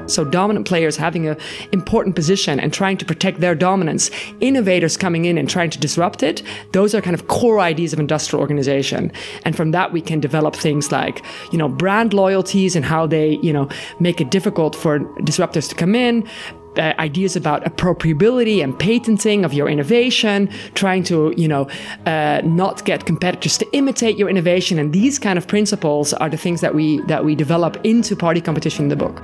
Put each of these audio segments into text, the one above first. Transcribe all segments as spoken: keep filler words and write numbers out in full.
So dominant players having an important position and trying to protect their dominance, innovators coming in and trying to disrupt it, those are kind of core ideas of industrial organization. And from that, we can develop things like, you know, brand loyalties and how they, you know, make it difficult for disruptors to come in. Uh, ideas about appropriability and patenting of your innovation, trying to, you know, uh, not get competitors to imitate your innovation. And these kind of principles are the things that we that we develop into party competition in the book.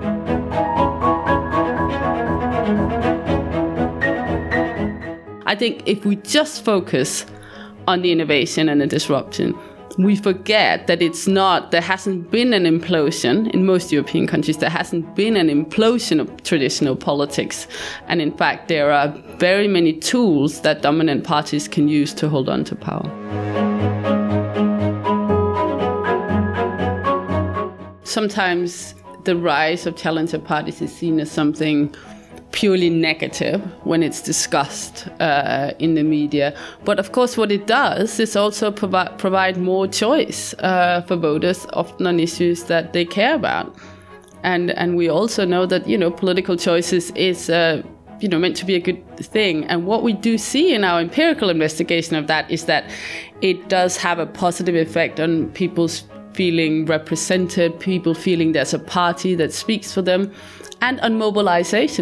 I think if we just focus on the innovation and the disruption, we forget that it's not, there hasn't been an implosion in most European countries. There hasn't been an implosion of traditional politics. And in fact, there are very many tools that dominant parties can use to hold on to power. Sometimes the rise of challenger parties is seen as something purely negative when it's discussed uh, in the media. But of course, what it does is also provi- provide more choice uh, for voters, often on issues that they care about. And and we also know that, you know, political choices is, uh, you know, meant to be a good thing. And what we do see in our empirical investigation of that is that it does have a positive effect on people's feeling represented, people feeling there's a party that speaks for them, and on mobilization.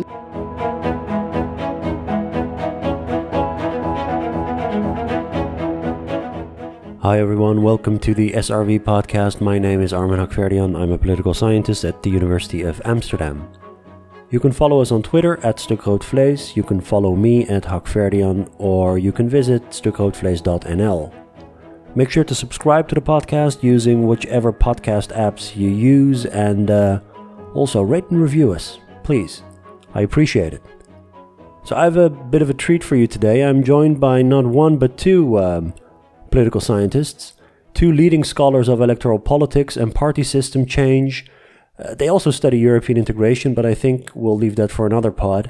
Hi everyone, welcome to the S R V podcast. My name is Armin Hakhverdian. I'm a political scientist at the University of Amsterdam. You can follow us on Twitter at Stukroodvlees, you can follow me at Hakhverdian, or you can visit stukroodvlees dot n l. Make sure to subscribe to the podcast using whichever podcast apps you use, and uh, also rate and review us, please. I appreciate it. So I have a bit of a treat for you today. I'm joined by not one but two um, political scientists, two leading scholars of electoral politics and party system change. Uh, they also study European integration, but I think we'll leave that for another pod.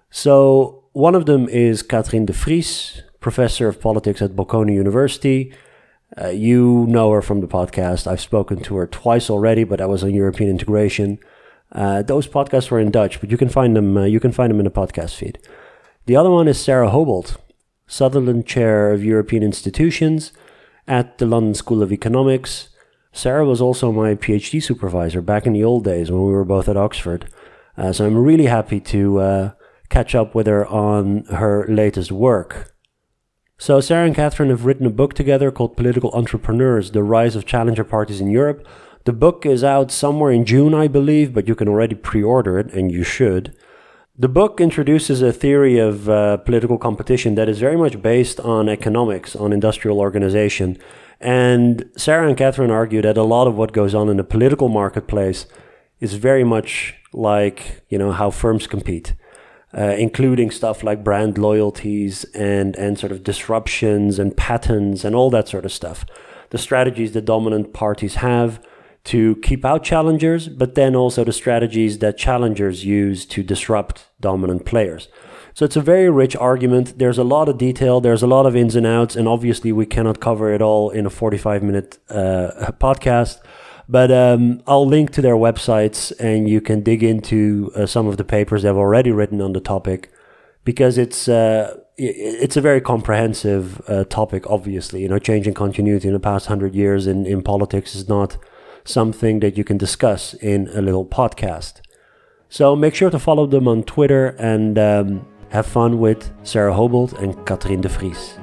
So one of them is Catherine de Vries, professor of politics at Bocconi University. Uh, you know her from the podcast. I've spoken to her twice already, but that was on European integration. Uh, those podcasts were in Dutch, but you can find them. Uh, you can find them in the podcast feed. The other one is Sarah Houbolt, Sutherland Chair of European Institutions at the London School of Economics. Sarah was also my PhD supervisor back in the old days when we were both at Oxford. Uh, so I'm really happy to uh, catch up with her on her latest work. So Sarah and Catherine have written a book together called Political Entrepreneurs, The Rise of Challenger Parties in Europe. The book is out somewhere in June, I believe, but you can already pre-order it, and you should. The book introduces a theory of uh, political competition that is very much based on economics, on industrial organization. And Sarah and Catherine argue that a lot of what goes on in the political marketplace is very much like, you know, how firms compete. Uh, including stuff like brand loyalties and, and sort of disruptions and patents and all that sort of stuff. The strategies that dominant parties have to keep out challengers, but then also the strategies that challengers use to disrupt dominant players. So it's a very rich argument. There's a lot of detail. There's a lot of ins and outs. And obviously we cannot cover it all in a forty-five minute uh, podcast. But um, I'll link to their websites and you can dig into uh, some of the papers they've already written on the topic, because it's uh, it's a very comprehensive uh, topic, obviously. You know, changing continuity in the past hundred years in, in politics is not something that you can discuss in a little podcast. So make sure to follow them on Twitter and um, have fun with Sarah Houbolt and Catherine de Vries.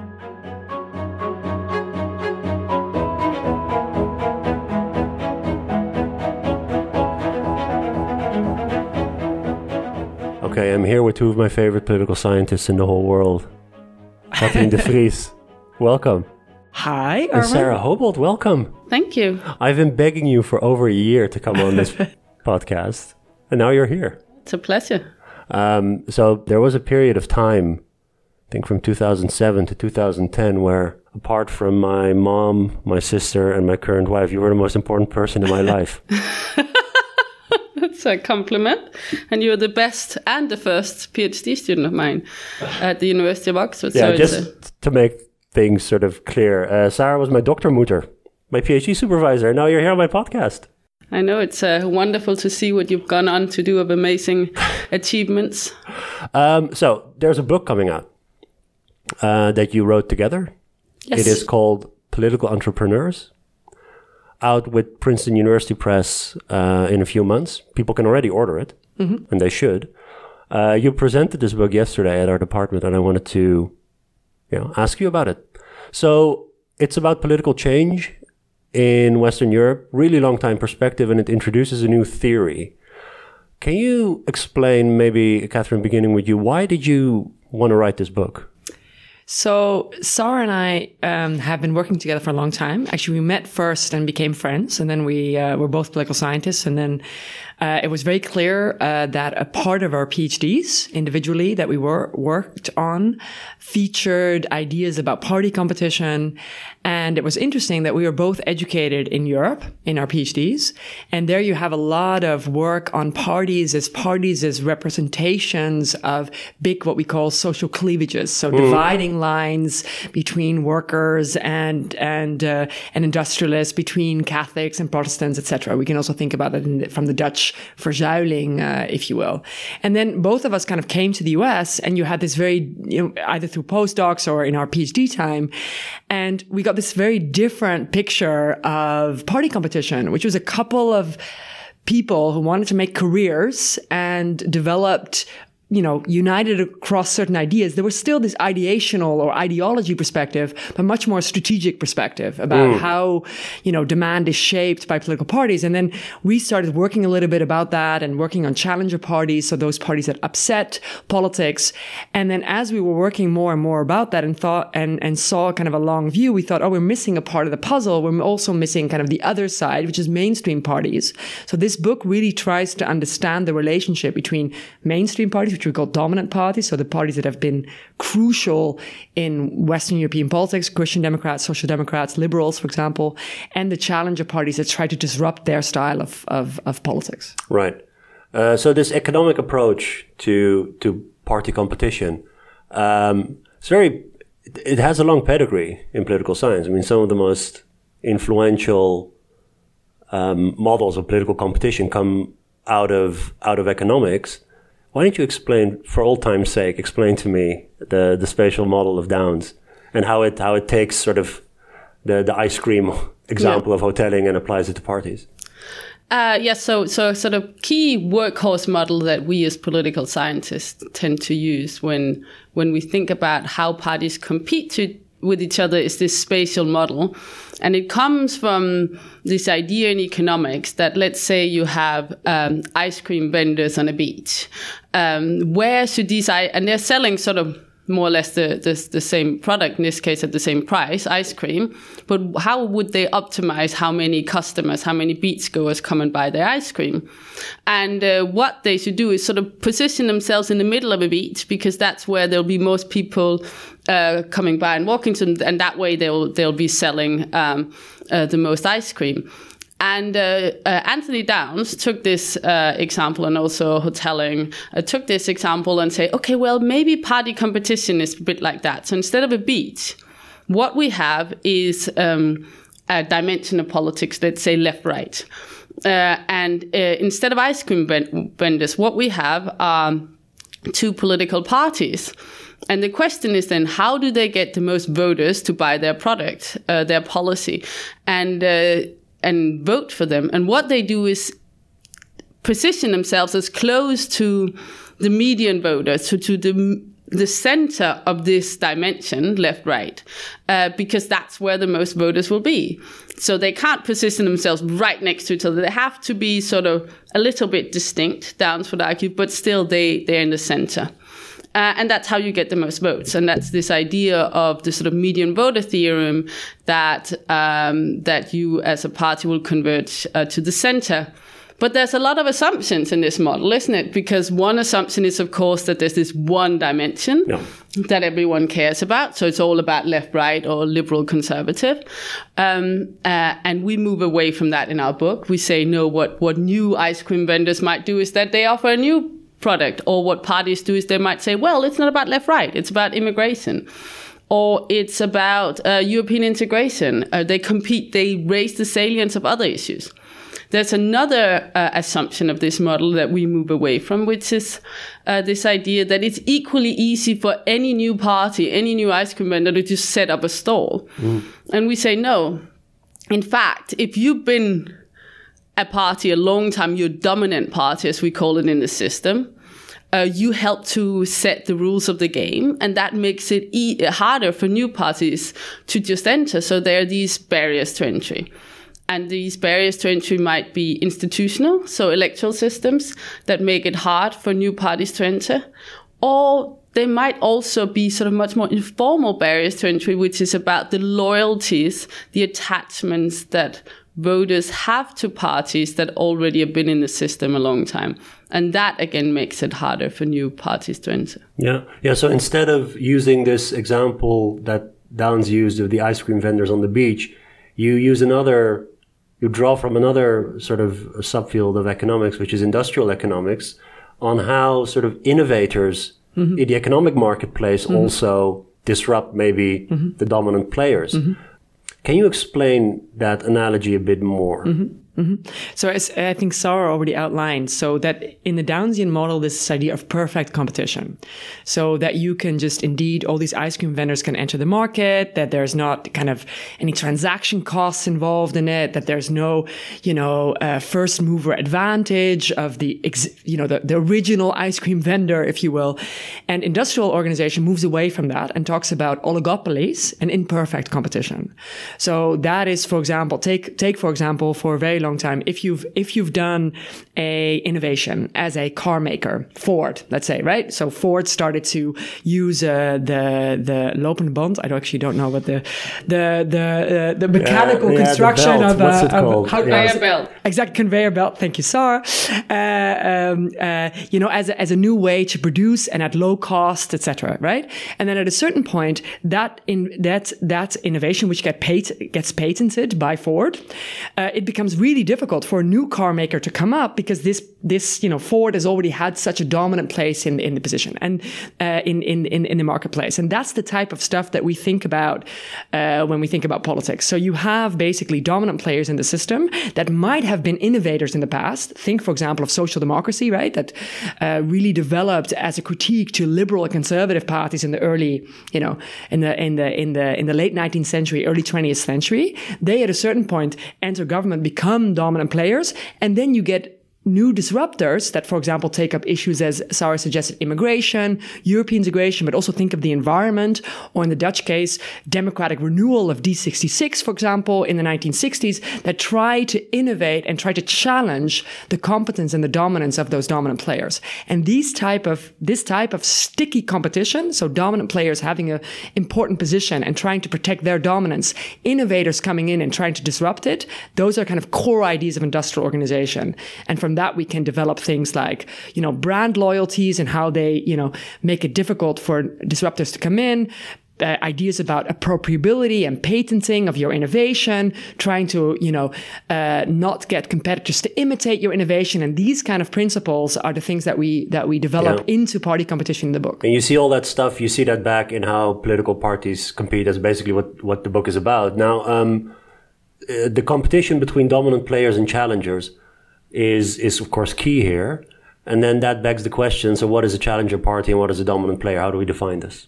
Okay, I'm here with two of my favorite political scientists in the whole world. Catherine de Vries, welcome. Hi, Armin. And Sarah Houbolt, welcome. Thank you. I've been begging you for over a year to come on this podcast, and now you're here. It's a pleasure. Um, so there was a period of time, I think from two thousand seven to two thousand ten, where apart from my mom, my sister, and my current wife, you were the most important person in my life. That's a compliment. And you're the best and the first PhD student of mine at the University of Oxford. Yeah, so just a... to make things sort of clear, uh, Sarah was my doctormutter, my PhD supervisor. Now you're here on my podcast. I know it's uh, wonderful to see what you've gone on to do of amazing achievements. Um, so there's a book coming out uh, that you wrote together. Yes. It is called Political Entrepreneurs, out with Princeton University Press uh, in a few months. People can already order it, mm-hmm. and they should. Uh, you presented this book yesterday at our department, and I wanted to, you know, ask you about it. So it's about political change in Western Europe, really long time perspective, and it introduces a new theory. Can you explain, maybe, Catherine, beginning with you, why did you want to write this book? So Sarah and I um, have been working together for a long time. Actually, we met first and became friends, and then we uh, were both political scientists. And then uh, it was very clear uh, that a part of our PhDs individually that we were worked on featured ideas about party competition. And it was interesting that we were both educated in Europe in our PhDs. And there you have a lot of work on parties as parties as representations of big, what we call social cleavages. So mm. dividing lines between workers and and uh, and industrialists, between Catholics and Protestants, et cetera. We can also think about it in the, from the Dutch verzuiling, uh, if you will. And then both of us kind of came to the U S, and you had this very, you know, either through postdocs or in our PhD time, and we got this very different picture of party competition, which was a couple of people who wanted to make careers and developed, you know, united across certain ideas. There was still this ideational or ideology perspective, but much more strategic perspective about mm. how, you know, demand is shaped by political parties. And then we started working a little bit about that and working on challenger parties. So those parties that upset politics. And then as we were working more and more about that and thought and, and saw kind of a long view, we thought, oh, we're missing a part of the puzzle. We're also missing kind of the other side, which is mainstream parties. So this book really tries to understand the relationship between mainstream parties, which we call dominant parties, so the parties that have been crucial in Western European politics, Christian Democrats, Social Democrats, Liberals, for example, and the challenger parties that try to disrupt their style of, of, of politics. Right. Uh, so this economic approach to to party competition, um, it's very, it has a long pedigree in political science. I mean, some of the most influential um, models of political competition come out of out of economics. Why don't you explain, for old time's sake, explain to me the, the spatial model of Downs and how it how it takes sort of the, the ice cream example yeah. of hoteling and applies it to parties? Uh, yes, so so sort of key workhorse model that we as political scientists tend to use when when we think about how parties compete to with each other is this spatial model. And it comes from this idea in economics that, let's say you have um, ice cream vendors on a beach. Um, where should these, and they're selling sort of more or less the, the, the same product, in this case at the same price, ice cream. But how would they optimize how many customers, how many beachgoers come and buy their ice cream? And uh, what they should do is sort of position themselves in the middle of a beach, because that's where there'll be most people uh, coming by and walking to them, and that way they'll they'll be selling um, uh, the most ice cream. And uh, uh, Anthony Downs took this uh, example, and also Hotelling uh, took this example and say, okay, well, maybe party competition is a bit like that. So instead of a beach, what we have is um, a dimension of politics, let's say left-right. Uh, and uh, instead of ice cream vendors, what we have are two political parties. And the question is then, how do they get the most voters to buy their product, uh, their policy? And uh, and vote for them. And what they do is position themselves as close to the median voters, to, to the the center of this dimension, left-right, uh, because that's where the most voters will be. So they can't position themselves right next to each other. They have to be sort of a little bit distinct, Downs would argue, but still they, they're in the center. Uh, and that's how you get the most votes. And that's this idea of the sort of median voter theorem that um, that you as a party will converge uh, to the center. But there's a lot of assumptions in this model, isn't it? Because one assumption is, of course, that there's this one dimension yeah. that everyone cares about. So it's all about left, right, or liberal, conservative. Um, uh, and we move away from that in our book. We say, no, what, what new ice cream vendors might do is that they offer a new product, or what parties do is they might say, well, it's not about left-right, it's about immigration, or it's about uh, European integration. Uh, they compete, they raise the salience of other issues. there's another uh, assumption of this model that we move away from, which is uh, this idea that it's equally easy for any new party, any new ice cream vendor to just set up a stall. Mm. And we say, no. In fact, if you've been a party a long time, you're a dominant party, as we call it in the system, uh, you help to set the rules of the game, and that makes it e- harder for new parties to just enter. So there are these barriers to entry. And these barriers to entry might be institutional, so electoral systems that make it hard for new parties to enter, or they might also be sort of much more informal barriers to entry, which is about the loyalties, the attachments that voters have to parties that already have been in the system a long time. And that, again, makes it harder for new parties to enter. Yeah. Yeah. So instead of using this example that Downs used of the ice cream vendors on the beach, you use another, you draw from another sort of subfield of economics, which is industrial economics, on how sort of innovators mm-hmm. in the economic marketplace mm-hmm. also disrupt maybe mm-hmm. the dominant players. Mm-hmm. Can you explain that analogy a bit more? Mm-hmm. Mm-hmm. So as I think Sarah already outlined, so that in the Downsian model, this idea of perfect competition. So that you can just indeed, all these ice cream vendors can enter the market, that there's not kind of any transaction costs involved in it, that there's no, you know, uh, first mover advantage of the, ex- you know, the, the original ice cream vendor, if you will. And industrial organization moves away from that and talks about oligopolies and imperfect competition. So that is, for example, take, take, for example, for a very long time, if you've if you've done a innovation as a car maker, Ford, let's say, right? So Ford started to use uh, the the lopende band. I don't, actually don't know what the the the uh, the mechanical yeah, yeah, construction of What's uh, it called? Of, how, conveyor yeah. belt. Exact conveyor belt. Thank you, Sarah. Uh, um, uh, you know, as a, as a new way to produce and at low cost, et cetera. Right? And then at a certain point, that in that that innovation, which get paid, gets patented by Ford, uh, it becomes really difficult for a new car maker to come up because this, this, you know, Ford has already had such a dominant place in, in the position and, uh, in, in, in, in the marketplace. And that's the type of stuff that we think about, uh, when we think about politics. So you have basically dominant players in the system that might have been innovators in the past. Think, for example, of social democracy, right? That, uh, really developed as a critique to liberal and conservative parties in the early, you know, in the, in the, in the, in the late nineteenth century, early twentieth century. They at a certain point enter government, become dominant players, and then you get new disruptors that, for example, take up issues as Sarah suggested, immigration, European integration, but also think of the environment, or in the Dutch case, democratic renewal of D sixty-six, for example, in the nineteen sixties, that try to innovate and try to challenge the competence and the dominance of those dominant players. And these type of, this type of sticky competition, so dominant players having an important position and trying to protect their dominance, innovators coming in and trying to disrupt it, those are kind of core ideas of industrial organization. And from that, we can develop things like, you know, brand loyalties and how they, you know, make it difficult for disruptors to come in. Uh, ideas about appropriability and patenting of your innovation, trying to, you know, uh, not get competitors to imitate your innovation. And these kind of principles are the things that we, that we develop yeah. into party competition in the book. And you see all that stuff, you see that back in how political parties compete. That's basically what, what the book is about. Now, um, uh, the competition between dominant players and challengers is, is of course key here. And then that begs the question, so what is a challenger party and what is a dominant player? How do we define this?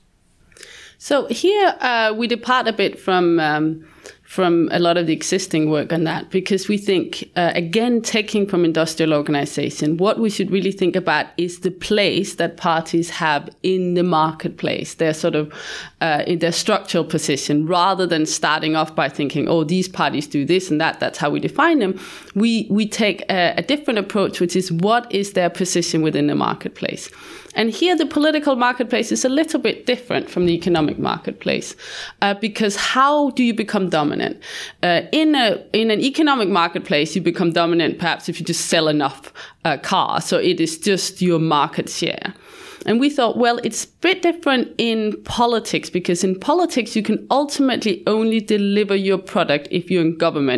So here uh, we depart a bit from um, from a lot of the existing work on that, because we think, uh, again, taking from industrial organization, what we should really think about is the place that parties have in the marketplace, their sort of, uh, in their structural position, rather than starting off by thinking, oh, these parties do this and that, that's how we define them. We, we take a, a different approach, which is what is their position within the marketplace. And here the political marketplace is a little bit different from the economic marketplace, uh, because how do you become dominant? Uh, in a in an economic marketplace, you become dominant perhaps if you just sell enough uh, cars, so it is just your market share. And we thought, well, it's a bit different in politics, because in politics, you can ultimately only deliver your product if you're in government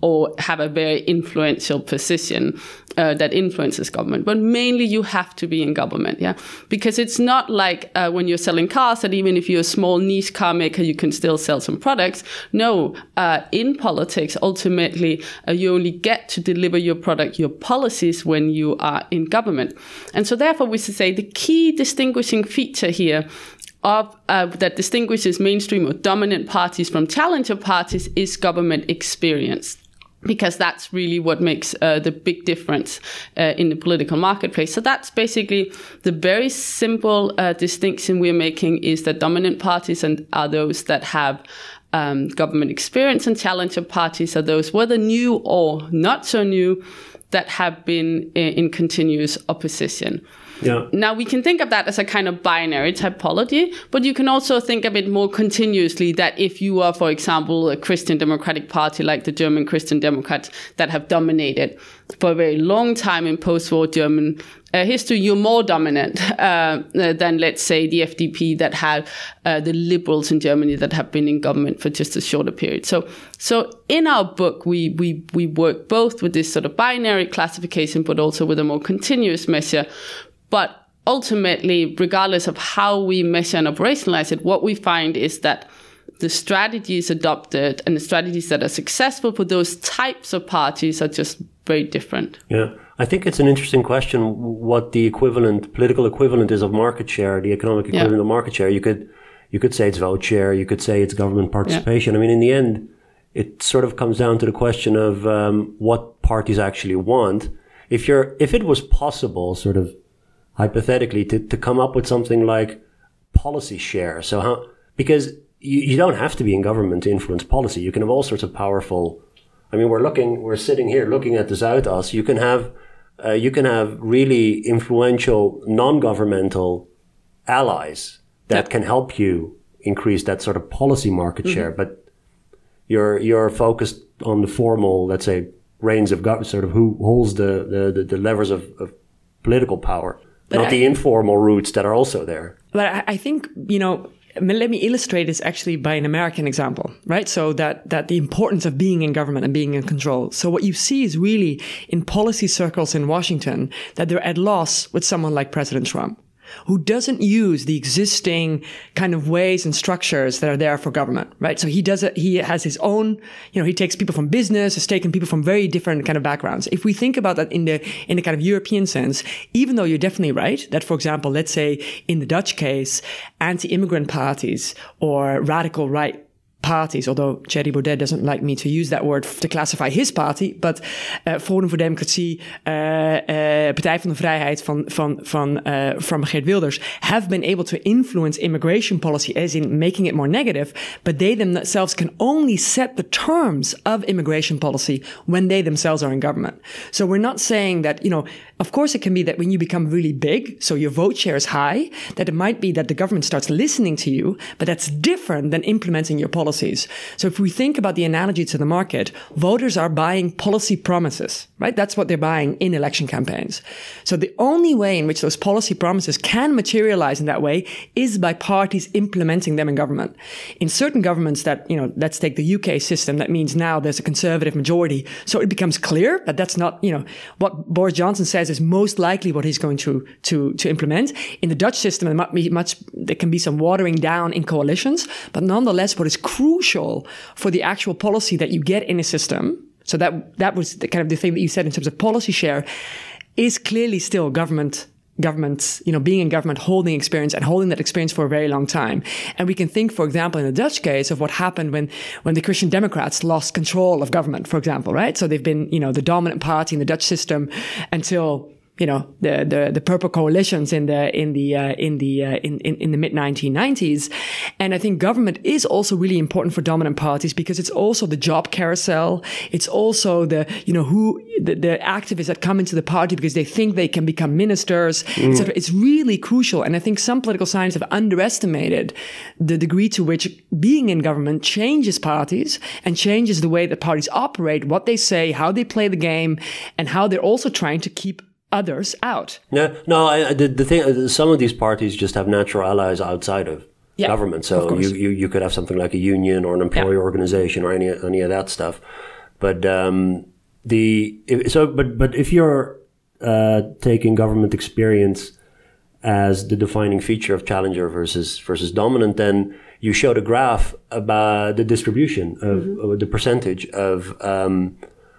or have a very influential position uh, that influences government. But mainly you have to be in government, yeah? Because it's not like uh, when you're selling cars that even if you're a small niche car maker, you can still sell some products. No, uh, in politics, ultimately, uh, you only get to deliver your product, your policies when you are in government. And so therefore we should say the key distinguishing feature here of uh, that distinguishes mainstream or dominant parties from challenger parties is government experience. Because that's really what makes uh, the big difference uh, in the political marketplace. So that's basically the very simple uh, distinction we're making, is that dominant parties and are those that have um, government experience, and challenger parties are those, whether new or not so new, that have been in, in continuous opposition. Yeah. Now, we can think of that as a kind of binary typology, but you can also think of it more continuously, that if you are, for example, a Christian Democratic Party like the German Christian Democrats that have dominated for a very long time in post-war German uh, history, you're more dominant uh, than, let's say, the F D P that have uh, the liberals in Germany that have been in government for just a shorter period. So, so in our book, we we we work both with this sort of binary classification, but also with a more continuous measure. But ultimately, regardless of how we measure and operationalize it, what we find is that the strategies adopted and the strategies that are successful for those types of parties are just very different. Yeah, I think it's an interesting question what the equivalent, political equivalent is of market share, the economic equivalent yeah. of market share. You could you could say it's vote share, you could say it's government participation. Yeah. I mean, in the end, it sort of comes down to the question of um, what parties actually want. If you're, if it was possible, sort of, hypothetically, to, to come up with something like policy share. So how, because you, you don't have to be in government to influence policy. You can have all sorts of powerful, I mean, we're looking, we're sitting here looking at the Zuidas. You can have, uh, you can have really influential non-governmental allies that can help you increase that sort of policy market mm-hmm. share. But you're, you're focused on the formal, let's say, reins of government, sort of who holds the, the, the, the levers of, of political power. But Not I, the informal routes that are also there. But I think, you know, let me illustrate this actually by an American example, right? So that, that the importance of being in government and being in control. So what you see is really in policy circles in Washington that they're at loss with someone like President Trump, who doesn't use the existing kind of ways and structures that are there for government, right? So he does it, he has his own, you know, he takes people from business, has taken people from very different kind of backgrounds. If we think about that in the, in the kind of European sense, even though you're definitely right, that for example, let's say in the Dutch case, anti-immigrant parties or radical right parties, although Thierry Baudet doesn't like me to use that word to classify his party, but uh, Forum voor Democratie, uh, uh, Partij van de Vrijheid van, van, van, uh, from Geert Wilders have been able to influence immigration policy as in making it more negative, but they themselves can only set the terms of immigration policy when they themselves are in government. So we're not saying that, you know, of course it can be that when you become really big, so your vote share is high, that it might be that the government starts listening to you, but that's different than implementing your policy. So if we think about the analogy to the market, voters are buying policy promises, right? That's what they're buying in election campaigns. So the only way in which those policy promises can materialize in that way is by parties implementing them in government. In certain governments that, you know, let's take the U K system, that means now there's a conservative majority. So it becomes clear that that's not, you know, what Boris Johnson says is most likely what he's going to, to, to implement. In the Dutch system, there might be much, there can be some watering down in coalitions, but nonetheless, what is crucial for the actual policy that you get in a system, so that that was the kind of the thing that you said in terms of policy share, is clearly still government, government, you know, being in government, holding experience and holding that experience for a very long time. And we can think, for example, in the Dutch case of what happened when, when the Christian Democrats lost control of government, for example, right? So they've been, you know, the dominant party in the Dutch system until, you know, the, the, the purple coalitions in the, in the, uh, in the, uh, in, in, in the mid nineteen nineties. And I think government is also really important for dominant parties because it's also the job carousel. It's also the, you know, who, the, the activists that come into the party because they think they can become ministers, mm. et cetera. It's really crucial. And I think some political scientists have underestimated the degree to which being in government changes parties and changes the way that parties operate, what they say, how they play the game, and how they're also trying to keep others out. No, no. I, the, the thing, some of these parties just have natural allies outside of yeah, government. So of you, you you could have something like a union or an employee yeah. organization or any any of that stuff. But um, the if, so, but but if you're uh, taking government experience as the defining feature of challenger versus versus dominant, then you showed a graph about the distribution of, mm-hmm. of the percentage of um,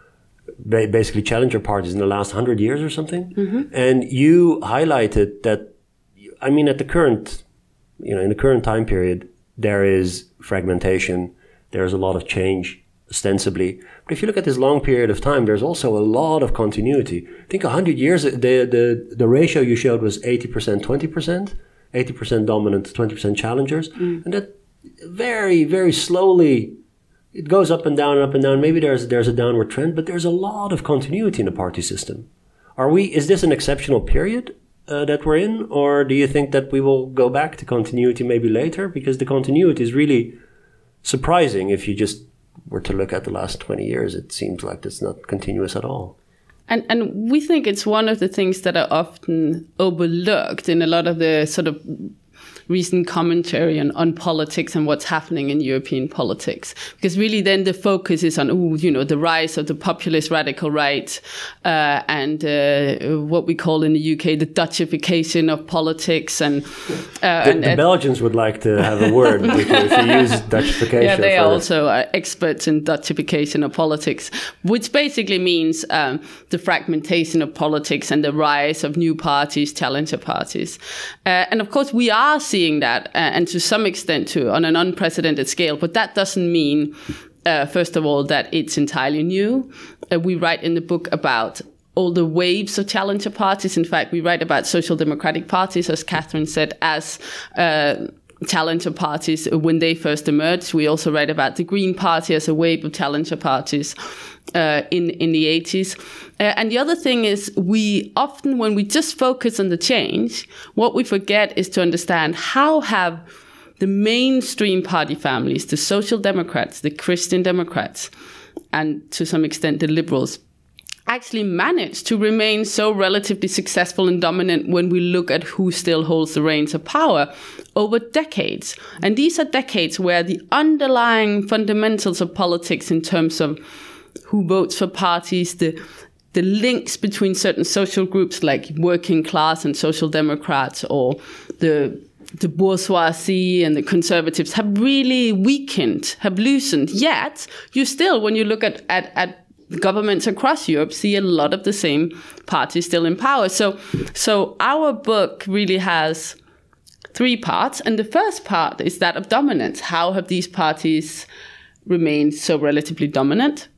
ba- basically challenger parties in the last hundred years or something, mm-hmm. and you highlighted that. I mean, at the current, you know, in the current time period, there is fragmentation. There's a lot of change, ostensibly. But if you look at this long period of time, there's also a lot of continuity. I think one hundred years, the the the ratio you showed was eighty percent, twenty percent, eighty percent dominant, twenty percent challengers. Mm. And that very, very slowly, it goes up and down and up and down. Maybe there's there's a downward trend, but there's a lot of continuity in the party system. Are we, is this an exceptional period uh, that we're in? Or do you think that we will go back to continuity maybe later? Because the continuity is really surprising. If you just were to look at the last twenty years, it seems like it's not continuous at all. And and we think it's one of the things that are often overlooked in a lot of the sort of recent commentary on, on politics and what's happening in European politics. Because really then the focus is on, ooh, you know, the rise of the populist radical right uh, and uh, what we call in the U K the Dutchification of politics. And, uh, the, and the uh, Belgians would like to have a word if you use Dutchification. Yeah, they for are also uh, experts in Dutchification of politics, which basically means um, the fragmentation of politics and the rise of new parties, challenger parties. Uh, and of course, we are seeing seeing that, uh, and to some extent too, on an unprecedented scale. But that doesn't mean, uh, first of all, that it's entirely new. Uh, we write in the book about all the waves of challenger parties. In fact, we write about social democratic parties, as Catherine said, as uh, challenger parties when they first emerged. We also write about the Green Party as a wave of challenger parties uh, in, in the eighties. Uh, and the other thing is, we often, when we just focus on the change, what we forget is to understand how have the mainstream party families, the Social Democrats, the Christian Democrats, and to some extent the Liberals, actually managed to remain so relatively successful and dominant when we look at who still holds the reins of power over decades. And these are decades where the underlying fundamentals of politics in terms of who votes for parties, the the links between certain social groups like working class and social democrats, or the the bourgeoisie and the conservatives, have really weakened, have loosened. Yet, you still, when you look at, at, at governments across Europe, see a lot of the same parties still in power. So, so our book really has three parts. And the first part is that of dominance. How have these parties remained so relatively dominant?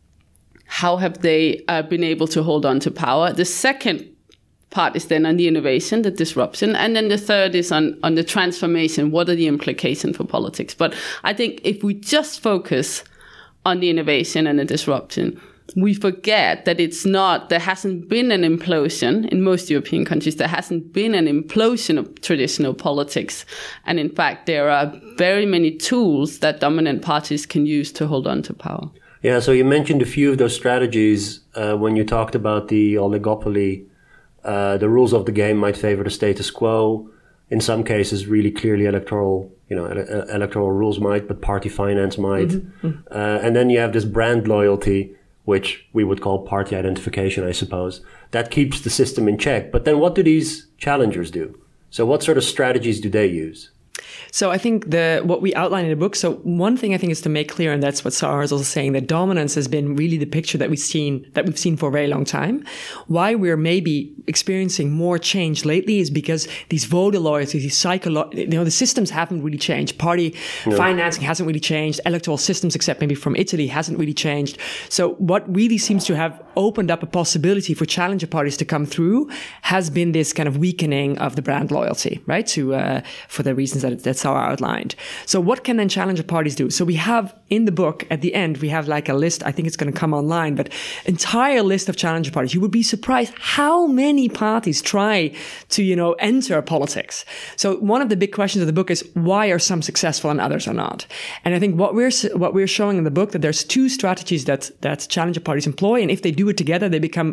How have they uh, been able to hold on to power? The second part is then on the innovation, the disruption. And then the third is on, on the transformation. What are the implications for politics? But I think if we just focus on the innovation and the disruption, we forget that it's not, there hasn't been an implosion in most European countries. There hasn't been an implosion of traditional politics. And in fact, there are very many tools that dominant parties can use to hold on to power. Yeah, so you mentioned a few of those strategies uh, when you talked about the oligopoly. Uh, the rules of the game might favor the status quo. In some cases, really clearly electoral, you know, ele- electoral rules might, but party finance might. Mm-hmm. Uh, and then you have this brand loyalty, which we would call party identification, I suppose. That keeps the system in check. But then what do these challengers do? So what sort of strategies do they use? So I think the what we outline in the book, so one thing I think is to make clear, and that's what Sarah is also saying, that dominance has been really the picture that we've seen that we've seen for a very long time. Why we're maybe experiencing more change lately is because these voter loyalties, these psycholo- you know, the systems haven't really changed. Party no. financing hasn't really changed. Electoral systems, except maybe from Italy, hasn't really changed. So what really seems to have opened up a possibility for challenger parties to come through has been this kind of weakening of the brand loyalty, right? To uh, for the reasons that that's how I outlined. So what can then challenger parties do? So we have in the book at the end, we have like a list. I think it's going to come online, but entire list of challenger parties. You would be surprised how many parties try to, you know, enter politics. So one of the big questions of the book is why are some successful and others are not? And I think what we're what we're showing in the book that there's two strategies that that challenger parties employ, and if they do it together, they become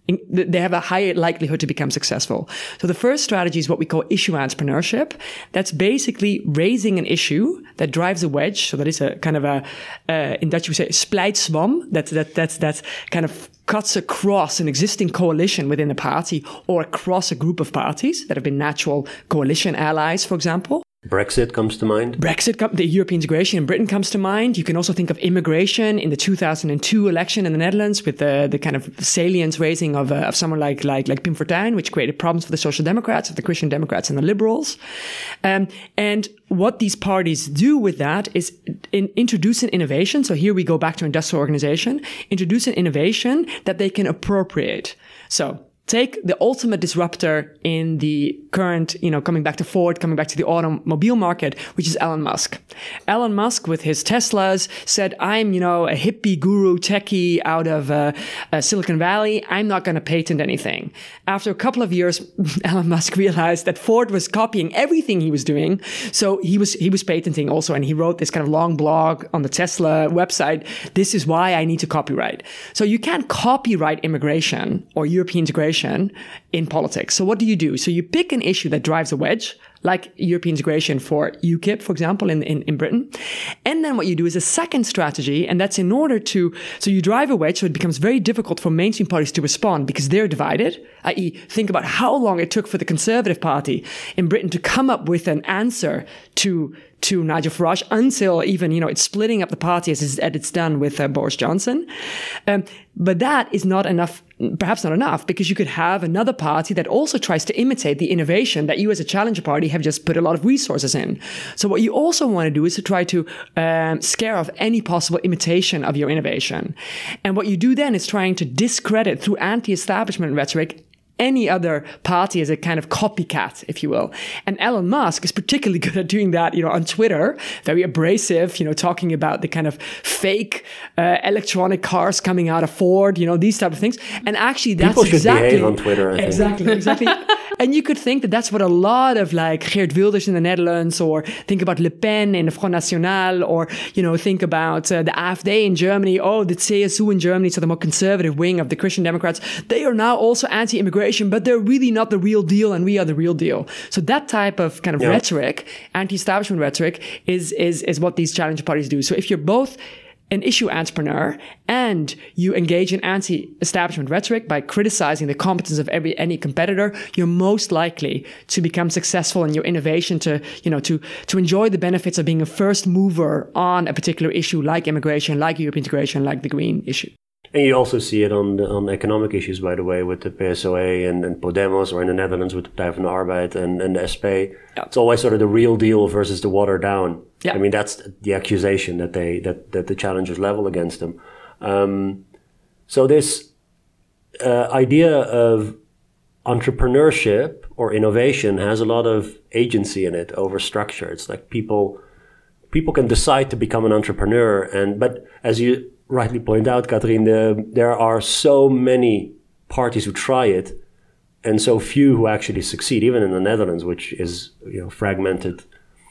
they have a higher likelihood to become successful. So the first strategy is what we call issue entrepreneurship. That's basically raising an issue that drives a wedge. So that is a kind of a, uh, in Dutch we say splijtswam. That, that, that's, that kind of cuts across an existing coalition within a party or across a group of parties that have been natural coalition allies, for example. Brexit comes to mind. Brexit, the European integration in Britain comes to mind. You can also think of immigration in the two thousand two election in the Netherlands with the, the kind of salience raising of, uh, of someone like, like, like Pim Fortuyn, which created problems for the Social Democrats, the Christian Democrats and the Liberals. Um, and what these parties do with that is in, introduce an innovation. So here we go back to industrial organization, introduce an innovation that they can appropriate. So take the ultimate disruptor in the current, you know, coming back to Ford, coming back to the automobile market, which is Elon Musk. Elon Musk with his Teslas said, I'm, you know, a hippie guru techie out of uh, uh, Silicon Valley. I'm not going to patent anything. After a couple of years, Elon Musk realized that Ford was copying everything he was doing. So he was, he was patenting also. And he wrote this kind of long blog on the Tesla website. This is why I need to copyright. So you can't copyright immigration or European integration in politics. So what do you do? So you pick an issue that drives a wedge, like European integration for UKIP, for example, in, in, in Britain. And then what you do is a second strategy, and that's in order to, so you drive a wedge, so it becomes very difficult for mainstream parties to respond because they're divided, that is think about how long it took for the Conservative Party in Britain to come up with an answer to to Nigel Farage until even, you know, it's splitting up the party as it's, as it's done with uh, Boris Johnson. Um, but that is not enough, perhaps not enough, because you could have another party that also tries to imitate the innovation that you as a challenger party have just put a lot of resources in. So what you also want to do is to try to um, scare off any possible imitation of your innovation. And what you do then is trying to discredit through anti-establishment rhetoric any other party as a kind of copycat, if you will. And Elon Musk is particularly good at doing that, you know, on Twitter, very abrasive, you know, talking about the kind of fake uh, electronic cars coming out of Ford, you know, these type of things. And actually that's People should exactly... behave on Twitter, I exactly, think. exactly. And you could think that that's what a lot of like Geert Wilders in the Netherlands, or think about Le Pen in the Front National, or, you know, think about uh, the AfD in Germany, oh, the C S U in Germany, so the more conservative wing of the Christian Democrats, they are now also anti-immigration, but they're really not the real deal, and we are the real deal. So that type of kind of yeah. rhetoric, anti-establishment rhetoric, is, is, is what these challenger parties do. So if you're both an issue entrepreneur and you engage in anti-establishment rhetoric by criticizing the competence of every any competitor, you're most likely to become successful in your innovation, to, you know, to, to enjoy the benefits of being a first mover on a particular issue like immigration, like European integration, like the green issue. And you also see it on the, on economic issues, by the way, with the P S O A and, and Podemos, or in the Netherlands with the Partij van de Arbeid and, and the S P. Yeah. It's always sort of the real deal versus the watered down. Yeah. I mean, that's the accusation that they that, that the challengers level against them. Um, so this uh, idea of entrepreneurship or innovation has a lot of agency in it over structure. It's like people people can decide to become an entrepreneur, and but as you rightly point out, Katrien, the, there are so many parties who try it and so few who actually succeed, even in the Netherlands, which is, you know, fragmented.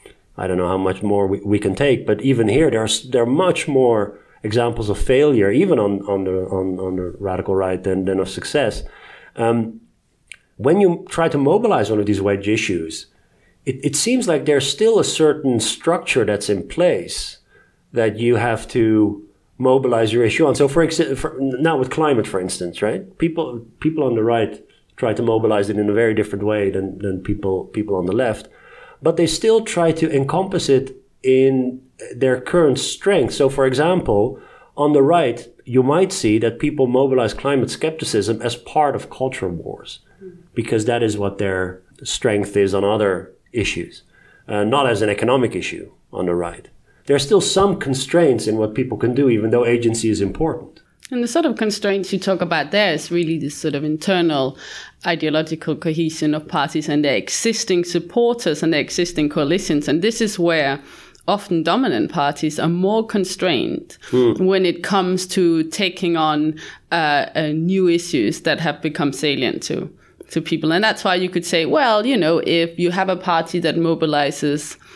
I don't know how much more we, we can take, but even here, there are, there are much more examples of failure, even on, on, the, on, on the radical right, than, than of success. Um, when you try to mobilize one of these wedge issues, it, it seems like there's still a certain structure that's in place that you have to mobilize your issue on. So for, ex- for now with climate, for instance, right? People people on the right try to mobilize it in a very different way than, than people people on the left. But they still try to encompass it in their current strength. So for example, on the right, you might see that people mobilize climate skepticism as part of culture wars, because that is what their strength is on other issues, uh, not as an economic issue on the right. There are still some constraints in what people can do, even though agency is important. And the sort of constraints you talk about there is really this sort of internal ideological cohesion of parties and their existing supporters and their existing coalitions. And this is where often dominant parties are more constrained mm. when it comes to taking on uh, uh, new issues that have become salient to, to people. And that's why you could say, well, you know, if you have a party that mobilizes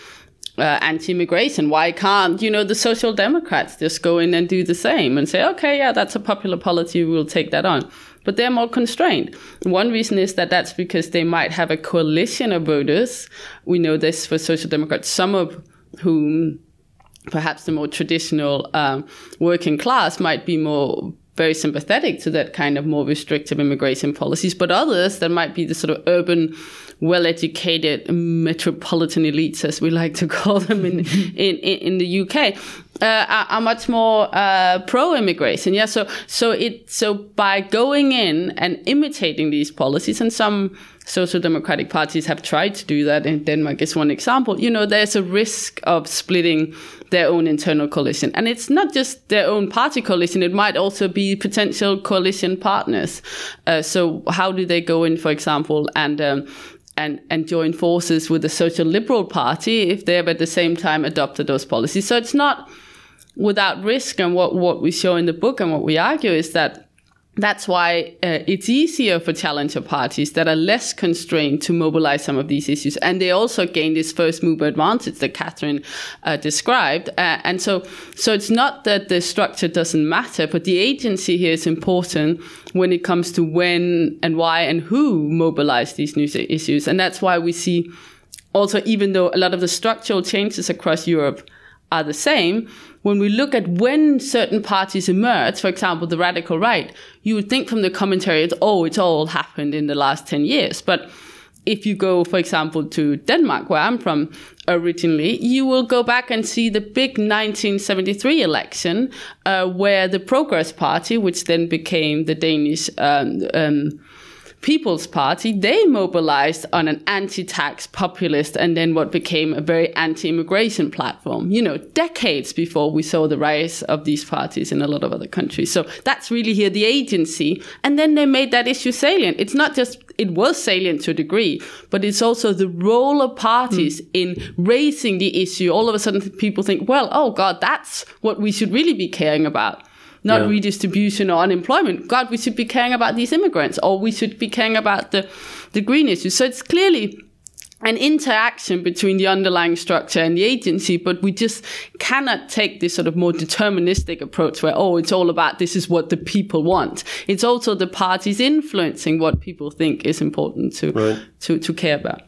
uh, anti-immigration. Why can't, you know, the Social Democrats just go in and do the same and say, okay, yeah, that's a popular policy, we'll take that on. But they're more constrained. One reason is that that's because they might have a coalition of voters. We know this for Social Democrats, some of whom, perhaps the more traditional um, working class, might be more very sympathetic to that kind of more restrictive immigration policies, but others that might be the sort of urban, well-educated metropolitan elites, as we like to call them in in, in the U K, uh, are, are much more uh, pro-immigration. Yeah, so so it so by going in and imitating these policies, and some social democratic parties have tried to do that. In Denmark is one example. You know, there's a risk of splitting their own internal coalition. And it's not just their own party coalition, it might also be potential coalition partners. Uh, so how do they go in, for example, and um, and and join forces with the Social Liberal Party if they have at the same time adopted those policies? So it's not without risk. And what, what we show in the book and what we argue is that that's why uh, it's easier for challenger parties that are less constrained to mobilize some of these issues. And they also gain this first mover advantage that Catherine uh, described. Uh, and so so it's not that the structure doesn't matter, but the agency here is important when it comes to when and why and who mobilize these new issues. And that's why we see also, even though a lot of the structural changes across Europe are the same, when we look at when certain parties emerge, for example, the radical right, you would think from the commentary, oh, it's all happened in the last ten years. But if you go, for example, to Denmark, where I'm from originally, you will go back and see the big nineteen seventy-three election, uh, where the Progress Party, which then became the Danish um, um People's Party, they mobilized on an anti-tax populist and then what became a very anti-immigration platform, you know, decades before we saw the rise of these parties in a lot of other countries. So that's really here the agency. And then they made that issue salient. It's not just, it was salient to a degree, but it's also the role of parties mm. in raising the issue. All of a sudden people think, well, oh God, that's what we should really be caring about. Not yeah. redistribution or unemployment. God, we should be caring about these immigrants, or we should be caring about the, the green issues. So it's clearly an interaction between the underlying structure and the agency, but we just cannot take this sort of more deterministic approach where, oh, it's all about this is what the people want. It's also the parties influencing what people think is important to right. to, to care about.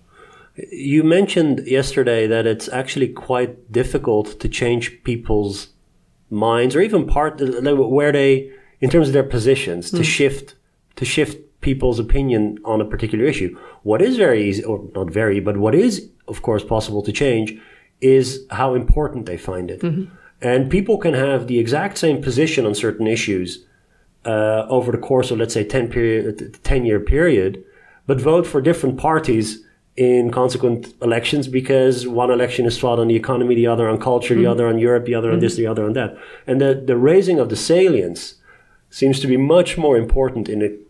You mentioned yesterday that it's actually quite difficult to change people's minds, or even part where they, in terms of their positions, to mm. shift to shift people's opinion on a particular issue. What is very easy, or not very, but what is, of course, possible to change is how important they find it. Mm-hmm. And people can have the exact same position on certain issues uh, over the course of, let's say, ten period, ten year period, but vote for different parties in consequent elections because one election is fought on the economy, the other on culture, mm-hmm. the other on Europe, the other mm-hmm. on this, the other on that. And the, the raising of the salience seems to be much more important in, it,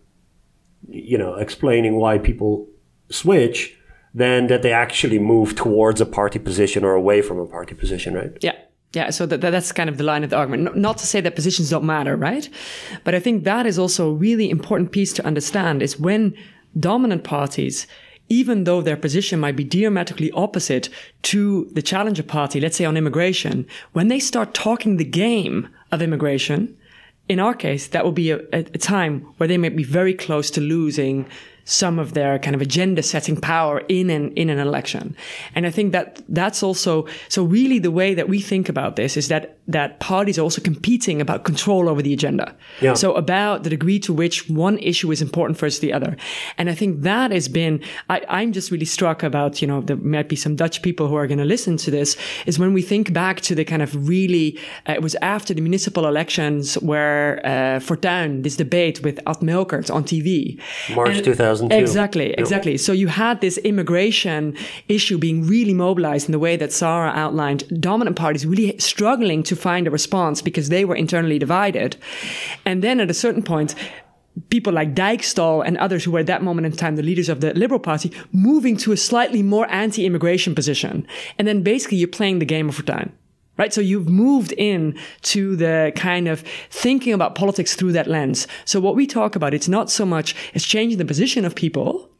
you know, explaining why people switch than that they actually move towards a party position or away from a party position, right? Yeah. Yeah, so that, that's kind of the line of the argument. Not to say that positions don't matter, right? But I think that is also a really important piece to understand is when dominant parties, even though their position might be diametrically opposite to the challenger party, let's say on immigration, when they start talking the game of immigration, in our case, that will be a, a time where they may be very close to losing some of their kind of agenda-setting power in an in an election. And I think that that's also, so really the way that we think about this is that that parties are also competing about control over the agenda. Yeah. So about the degree to which one issue is important versus the other. And I think that has been, I, I'm just really struck about, you know, there might be some Dutch people who are going to listen to this, is when we think back to the kind of really, uh, it was after the municipal elections where uh, Fortuyn, this debate with Ad Melkert on T V. March and, two thousand two. Exactly, exactly. So you had this immigration issue being really mobilized in the way that Sarah outlined, dominant parties really struggling to find a response because they were internally divided. And then at a certain point, people like Dijkstall and others who were at that moment in time the leaders of the Liberal Party moving to a slightly more anti-immigration position. And then basically you're playing the game of Fortuyn. Right? So you've moved in to the kind of thinking about politics through that lens. So what we talk about, it's not so much as changing the position of people,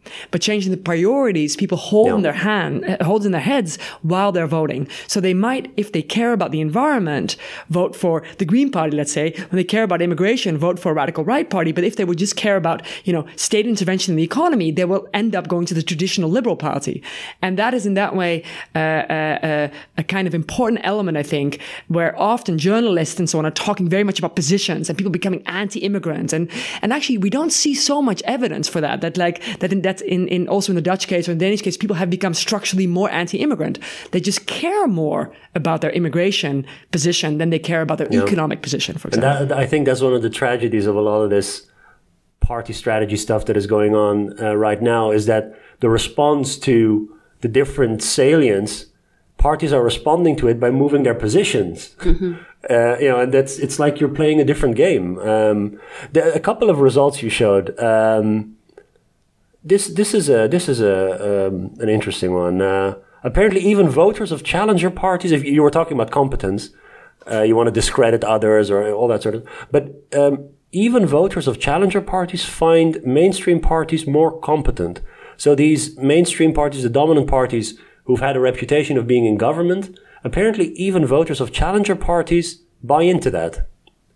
But changing the priorities, people hold Yeah. in their hand, hold in their heads while they're voting. So they might, if they care about the environment, vote for the Green Party, let's say. When they care about immigration, vote for a radical right party. But if they would just care about, you know, state intervention in the economy, they will end up going to the traditional Liberal Party. And that is in that way uh, uh, uh, a kind of important element, I think, where often journalists and so on are talking very much about positions and people becoming anti-immigrant. And and actually, we don't see so much evidence for that. That like that in that in, in also in the Dutch case or in the Danish case, people have become structurally more anti-immigrant. They just care more about their immigration position than they care about their Yeah. economic position, for example. And that, I think that's one of the tragedies of a lot of this party strategy stuff that is going on uh, right now, is that the response to the different salience, parties are responding to it by moving their positions. Mm-hmm. Uh, you know, and that's, it's like you're playing a different game. Um, the, a couple of results you showed, um, this, this is a, this is a, um, an interesting one. Uh, apparently even voters of challenger parties, if you were talking about competence, uh, you want to discredit others or all that sort of, but, um, even voters of challenger parties find mainstream parties more competent. So these mainstream parties, the dominant parties who've had a reputation of being in government, apparently even voters of challenger parties buy into that.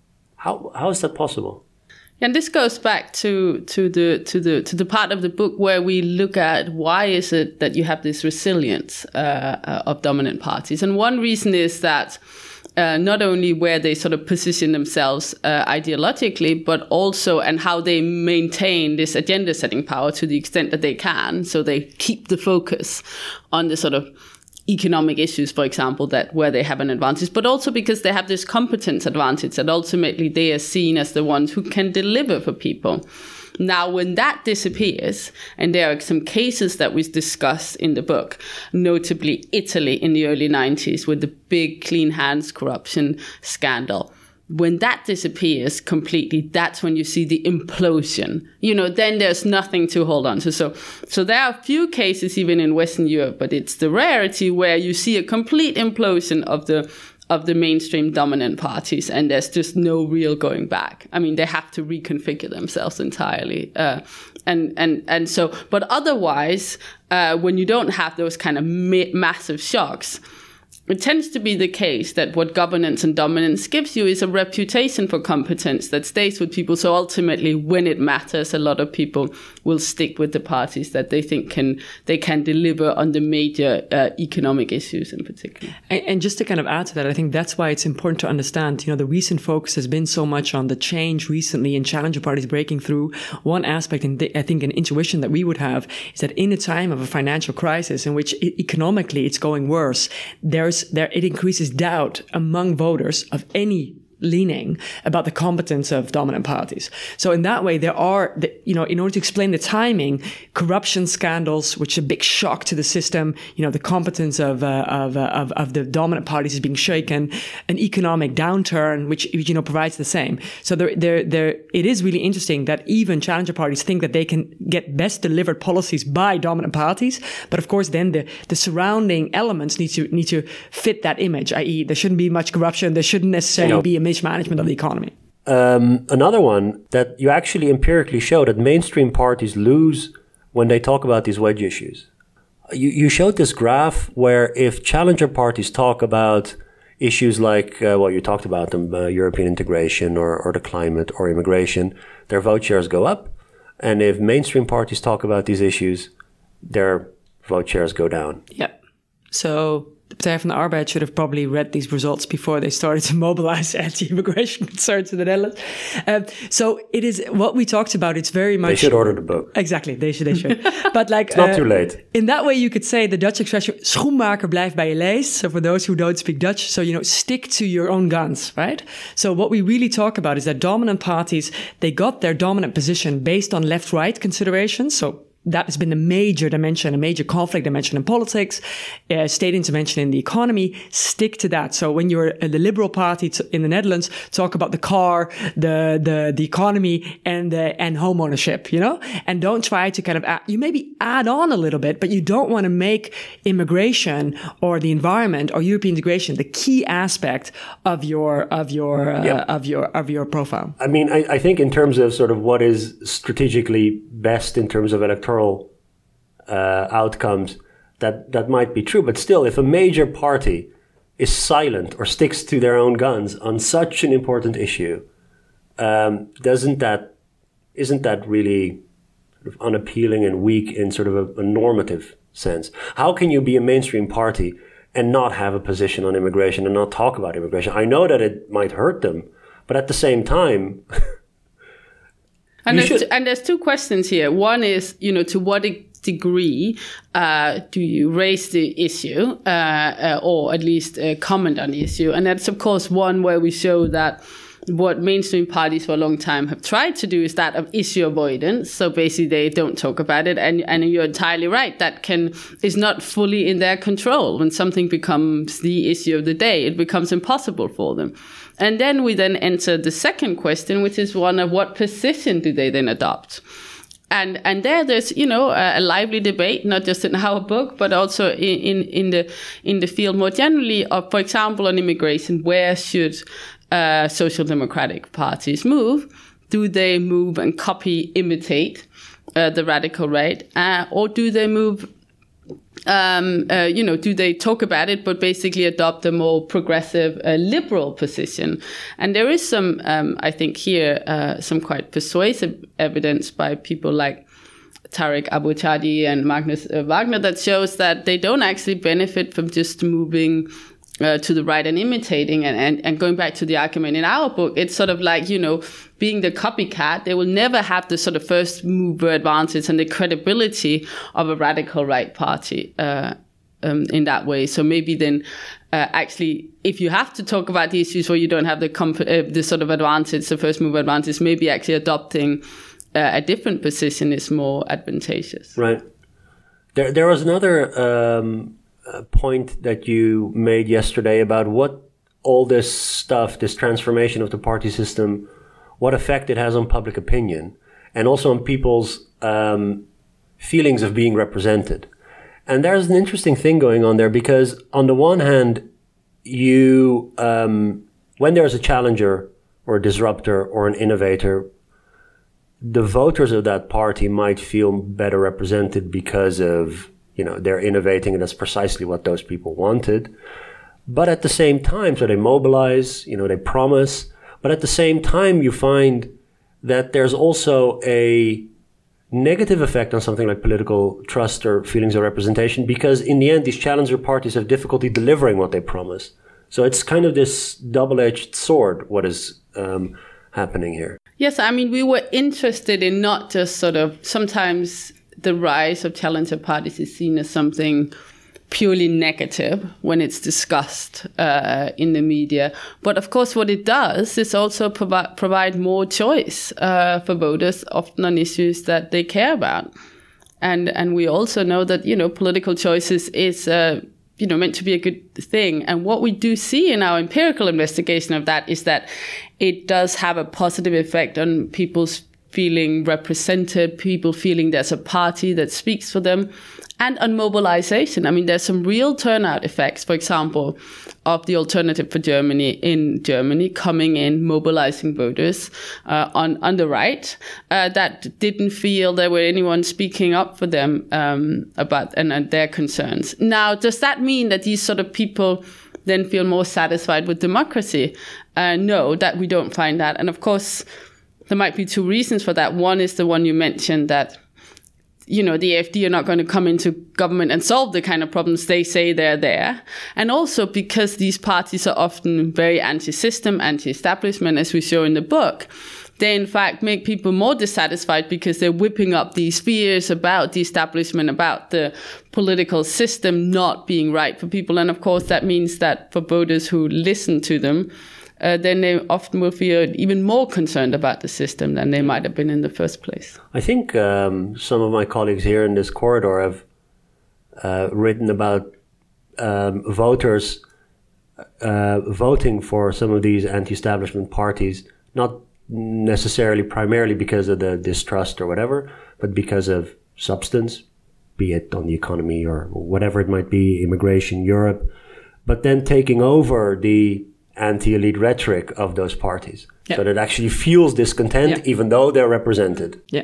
How how is that possible? And this goes back to to the to the to the part of the book where we look at why is it that you have this resilience uh, uh, of dominant parties, and one reason is that uh, not only where they sort of position themselves uh, ideologically, but also and how they maintain this agenda-setting power to the extent that they can, so they keep the focus on the sort of economic issues, for example, that where they have an advantage, but also because they have this competence advantage that ultimately they are seen as the ones who can deliver for people. Now, when that disappears, and there are some cases that we discuss in the book, notably Italy in the early nineties with the big clean hands corruption scandal, when that disappears completely, that's when you see the implosion. You know, then there's nothing to hold on to. So, so there are a few cases even in Western Europe, but it's the rarity where you see a complete implosion of the of the mainstream dominant parties, and there's just no real going back. I mean, they have to reconfigure themselves entirely, uh, and and and so. But otherwise, uh, when you don't have those kind of ma- massive shocks, it tends to be the case that what governance and dominance gives you is a reputation for competence that stays with people. So ultimately, when it matters, a lot of people will stick with the parties that they think can they can deliver on the major uh, economic issues in particular. And, and just to kind of add to that, I think that's why it's important to understand, you know, the recent focus has been so much on the change recently in challenger parties breaking through. One aspect, and I think an intuition that we would have is that in a time of a financial crisis in which economically it's going worse, there's there it increases doubt among voters of any leaning about the competence of dominant parties. So in that way, there are, the, you know, in order to explain the timing, corruption scandals, which is a big shock to the system, you know, the competence of, uh, of, uh, of, of the dominant parties is being shaken, an economic downturn, which, you know, provides the same. So there, there, there, it is really interesting that even challenger parties think that they can get best delivered policies by dominant parties. But of course, then the, the surrounding elements need to, need to fit that image, that is there shouldn't be much corruption. There shouldn't necessarily no. be a mismanagement of the economy. Um, another one that you actually empirically show that mainstream parties lose when they talk about these wedge issues. You, you showed this graph where if challenger parties talk about issues like, uh, well, you talked about them, uh, European integration or, or the climate or immigration, their vote shares go up. And if mainstream parties talk about these issues, their vote shares go down. Yeah. So the Partij van de Arbeid should have probably read these results before they started to mobilize anti-immigration concerns in the Netherlands. Um, so it is what we talked about. It's very much. They should order the book. Exactly, they should. They should. But like, it's not uh, too late. In that way, you could say the Dutch expression "schoenmaker blijft bij je leest." So for those who don't speak Dutch, so you know, stick to your own guns, right? So what we really talk about is that dominant parties, they got their dominant position based on left-right considerations. So that has been a major dimension, a major conflict dimension in politics, uh, state intervention in the economy. Stick to that. So when you're uh, the Liberal Party t- in the Netherlands, talk about the car, the the the economy, and uh, and home ownership, you know, and don't try to kind of add, you maybe add on a little bit, but you don't want to make immigration or the environment or European integration the key aspect of your of your uh, yep. of your of your profile. I mean, I, I think in terms of sort of what is strategically best in terms of electoral uh, outcomes that, that might be true. But still, if a major party is silent or sticks to their own guns on such an important issue, um, doesn't that, isn't that really sort of unappealing and weak in sort of a, a normative sense? How can you be a mainstream party and not have a position on immigration and not talk about immigration? I know that it might hurt them, but at the same time... and, there's t- and there's two questions here. One is, you know, to what degree uh, do you raise the issue uh, uh, or at least uh, comment on the issue? And that's, of course, one where we show that what mainstream parties for a long time have tried to do is that of issue avoidance. So basically they don't talk about it. And, and you're entirely right. That can is not fully in their control. When something becomes the issue of the day, it becomes impossible for them. And then we then enter the second question, which is one of what position do they then adopt? And and there there's, you know, a, a lively debate, not just in our book, but also in, in, in the in the field more generally of, for example, on immigration, where should Uh, social democratic parties move? Do they move and copy, imitate uh, the radical right? Uh, or do they move, um, uh, you know, do they talk about it, but basically adopt a more progressive, uh, liberal position? And there is some, um, I think here, uh, some quite persuasive evidence by people like Tarek Abu-Chadi and Magnus uh, Wagner that shows that they don't actually benefit from just moving Uh, to the right and imitating and, and, and going back to the argument in our book, it's sort of like, you know, being the copycat. They will never have the sort of first mover advantage and the credibility of a radical right party uh, um, in that way. So maybe then uh, actually, if you have to talk about the issues where you don't have the comp- uh, the sort of advantage, the first mover advantage, maybe actually adopting uh, a different position is more advantageous. Right. There, there was another um Uh, point that you made yesterday about what all this stuff, this transformation of the party system, what effect it has on public opinion and also on people's um, feelings of being represented. And there's an interesting thing going on there because on the one hand, you, um, when there's a challenger or a disruptor or an innovator, the voters of that party might feel better represented because of, you know, they're innovating and that's precisely what those people wanted. But at the same time, so they mobilize, you know, they promise. But at the same time, you find that there's also a negative effect on something like political trust or feelings of representation, because in the end, these challenger parties have difficulty delivering what they promise. So it's kind of this double-edged sword, what is um, happening here. Yes, I mean, we were interested in not just sort of sometimes the rise of challenger parties is seen as something purely negative when it's discussed uh, in the media. But of course, what it does is also provi- provide more choice uh, for voters, often on issues that they care about. And and we also know that, you know, political choices is, uh, you know, meant to be a good thing. And what we do see in our empirical investigation of that is that it does have a positive effect on people's feeling represented, people feeling there's a party that speaks for them, and on mobilization. I mean, there's some real turnout effects, for example, of the Alternative for Germany in Germany coming in, mobilizing voters uh, on, on the right uh, that didn't feel there were anyone speaking up for them um, about and, and their concerns. Now, does that mean that these sort of people then feel more satisfied with democracy? Uh, no, that we don't find that. And of course, there might be two reasons for that. One is the one you mentioned, that, you know, the A F D are not going to come into government and solve the kind of problems they say they're there. And also because these parties are often very anti-system, anti-establishment, as we show in the book. They, in fact, make people more dissatisfied because they're whipping up these fears about the establishment, about the political system not being right for people. And of course, that means that for voters who listen to them, Uh, then they often will feel even more concerned about the system than they might have been in the first place. I think um, some of my colleagues here in this corridor have uh, written about um, voters uh, voting for some of these anti-establishment parties, not necessarily primarily because of the distrust or whatever, but because of substance, be it on the economy or whatever it might be, immigration, Europe, but then taking over the anti-elite rhetoric of those parties. Yeah. So that actually fuels discontent, yeah. even though they're represented. Yeah.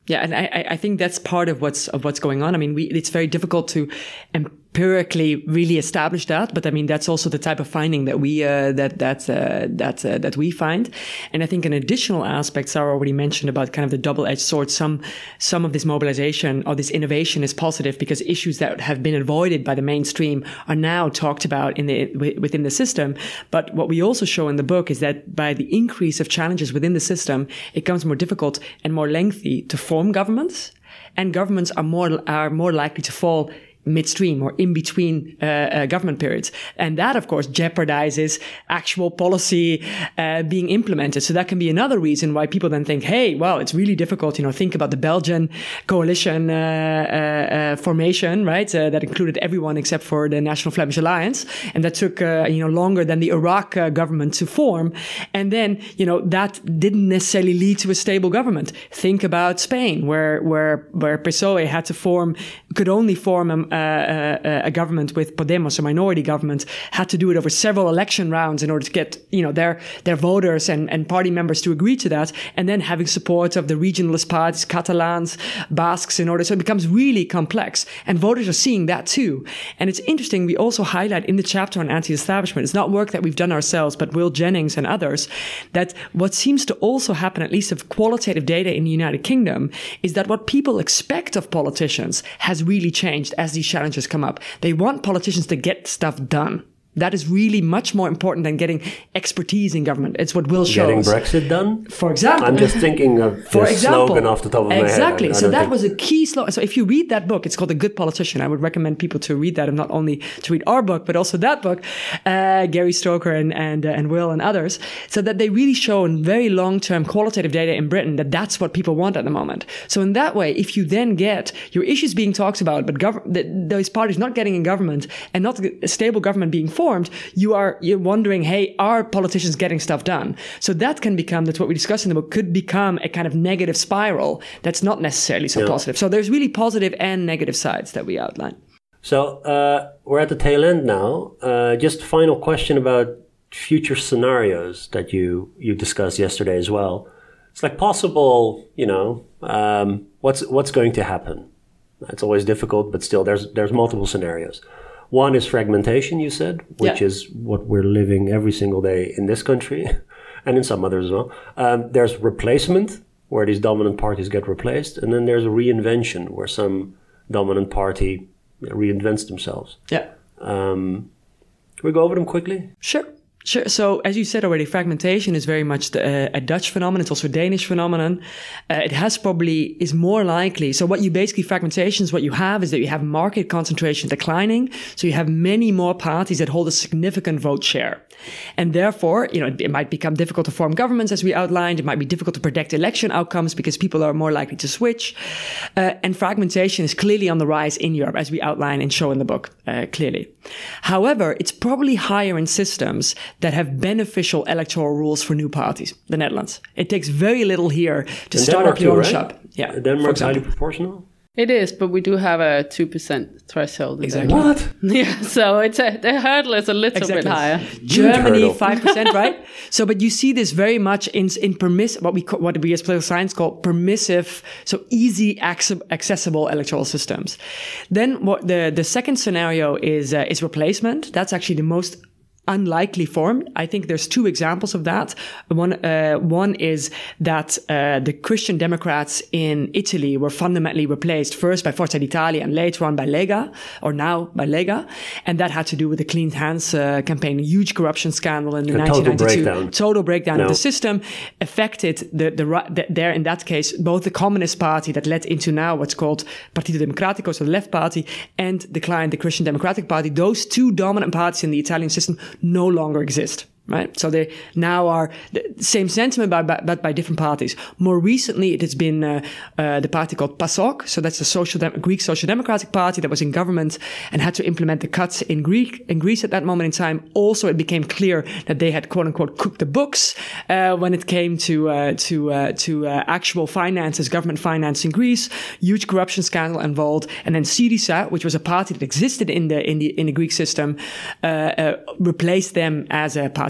Yeah, and I, I think that's part of what's of what's going on. I mean, we, it's very difficult to empirically really establish that, but I mean that's also the type of finding that we uh, that that uh, that uh, that we find. And I think an additional aspect Sarah already mentioned about kind of the double-edged sword. Some some of this mobilization or this innovation is positive because issues that have been avoided by the mainstream are now talked about in the within the system. But what we also show in the book is that by the increase of challenges within the system, it becomes more difficult and more lengthy to form governments, and governments are more are more likely to fall midstream or in between uh, uh, government periods. And that, of course, jeopardizes actual policy uh, being implemented. So that can be another reason why people then think, hey, well, it's really difficult. You know, think about the Belgian coalition uh, uh, uh, formation, right? Uh, that included everyone except for the National Flemish Alliance. And that took, uh, you know, longer than the Iraq uh, government to form. And then, you know, that didn't necessarily lead to a stable government. Think about Spain, where, where, where P S O E had to form, could only form a, Uh, uh, a government with Podemos, a minority government, had to do it over several election rounds in order to get, you know, their their voters and, and party members to agree to that, and then having support of the regionalist parties, Catalans, Basques, in order. So it becomes really complex, and voters are seeing that too. And it's interesting. We also highlight in the chapter on anti-establishment. It's not work that we've done ourselves, but Will Jennings and others. That what seems to also happen, at least of qualitative data in the United Kingdom, is that what people expect of politicians has really changed as these challenges come up. They want politicians to get stuff done. That is really much more important than getting expertise in government. It's what Will shows. Getting Brexit done? For example. I'm just thinking of for the example, slogan off the top of my head. Exactly. I, I so that think... was a key slogan. So if you read that book, it's called The Good Politician. I would recommend people to read that, and not only to read our book, but also that book, uh, Gary Stoker and and, uh, and Will and others, so that they really show in very long-term qualitative data in Britain that that's what people want at the moment. So in that way, if you then get your issues being talked about, but gov- the, those parties not getting in government and not a stable government being formed, you are you're wondering, hey, are politicians getting stuff done? So that can become, that's what we discuss in the book, could become a kind of negative spiral that's not necessarily so yeah. positive. So there's really positive and negative sides that we outline. So uh, we're at the tail end now. Uh, just final question about future scenarios that you, you discussed yesterday as well. It's like possible, you know, um, what's what's going to happen? It's always difficult, but still there's there's multiple scenarios. One is fragmentation, you said, which yeah. is what we're living every single day in this country and in some others as well. Um, there's replacement, where these dominant parties get replaced. And then there's a reinvention, where some dominant party reinvents themselves. Yeah. Um, can we go over them quickly? Sure. Sure. So, as you said already, fragmentation is very much the, uh, a Dutch phenomenon. It's also a Danish phenomenon. Uh, it has probably, is more likely. So what you basically, fragmentations, what you have is that you have market concentration declining. So you have many more parties that hold a significant vote share. And therefore, you know, it, it might become difficult to form governments, as we outlined. It might be difficult to predict election outcomes because people are more likely to switch. Uh, and fragmentation is clearly on the rise in Europe, as we outline and show in the book, uh, clearly. However, it's probably higher in systems that have beneficial electoral rules for new parties, the Netherlands. It takes very little here to in start Denmark up your too, own right? shop. Yeah, Denmark's highly proportional? It is, but we do have a two percent threshold. Exactly. What? Yeah, so it's a, the hurdle is a little exactly. bit higher. Germany, five percent, right? So, but you see this very much in in permiss what we call, what we as political science call permissive, so easy accessible electoral systems. Then what the the second scenario is uh, is replacement. That's actually the most unlikely form. I think there's two examples of that. One, uh, one is that uh, the Christian Democrats in Italy were fundamentally replaced first by Forza d'Italia and later on by Lega, or now by Lega, and that had to do with the Clean Hands uh, campaign, a huge corruption scandal in the nineteen ninety-two. Total breakdown. Total breakdown no. of the system affected the, the, the there in that case both the Communist Party that led into now what's called Partito Democratico, so the left party, and the client, the Christian Democratic Party. Those two dominant parties in the Italian system no longer exist. Right. So they now are the same sentiment, but, but by different parties. More recently, it has been uh, uh, the party called PASOK. So that's the social Dem- Greek Social Democratic Party that was in government and had to implement the cuts in Greek in Greece at that moment in time. Also, it became clear that they had quote unquote cooked the books uh, when it came to uh, to uh, to uh, actual finances, government finance in Greece. Huge corruption scandal involved, and then Syriza, which was a party that existed in the in the in the Greek system, uh, uh, replaced them as a party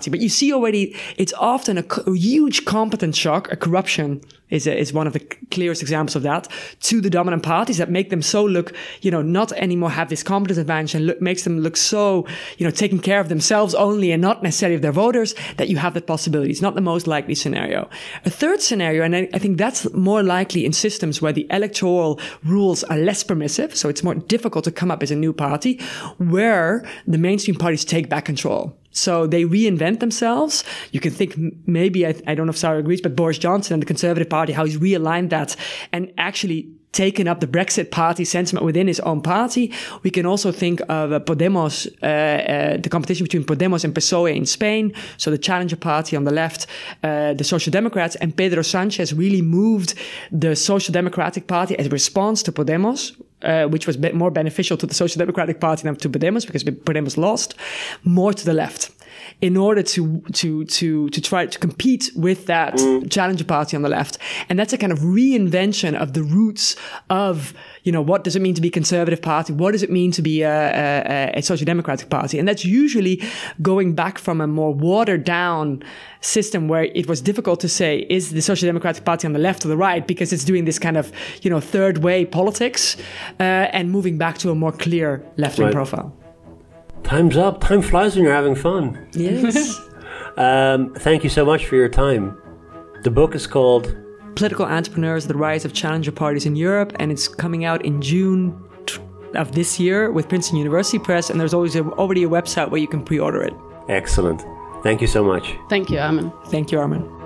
party. But you see already, it's often a, a huge competence shock. A corruption is a, is one of the clearest examples of that, to the dominant parties that make them so look, you know, not anymore have this competence advantage, and look, makes them look so, you know, taking care of themselves only and not necessarily of their voters, that you have that possibility. It's not the most likely scenario. A third scenario, and I, I think that's more likely in systems where the electoral rules are less permissive, so it's more difficult to come up as a new party, where the mainstream parties take back control. So they reinvent themselves. You can think maybe, I, I don't know if Sarah agrees, but Boris Johnson and the Conservative Party, how he's realigned that and actually taken up the Brexit party sentiment within his own party. We can also think of uh, Podemos, uh, uh, the competition between Podemos and P S O E in Spain. So the challenger party on the left, uh, the Social Democrats, and Pedro Sanchez really moved the Social Democratic Party as a response to Podemos, uh, which was be- more beneficial to the Social Democratic Party than to Podemos, because Podemos lost, more to the left, in order to to to to try to compete with that mm. challenger party on the left. And that's a kind of reinvention of the roots of, you know, what does it mean to be a conservative party? What does it mean to be a, a, a social democratic party? And that's usually going back from a more watered down system where it was difficult to say, is the Social Democratic Party on the left or the right? Because it's doing this kind of, you know, third way politics, uh, and moving back to a more clear left-wing right. profile. Time's up. Time flies when you're having fun. Yes. um, thank you so much for your time. The book is called Political Entrepreneurs, The Rise of Challenger Parties in Europe, and it's coming out in June of this year with Princeton University Press, and there's always a, already a website where you can pre-order it. Excellent. Thank you so much. Thank you, Armin. Thank you, Armin.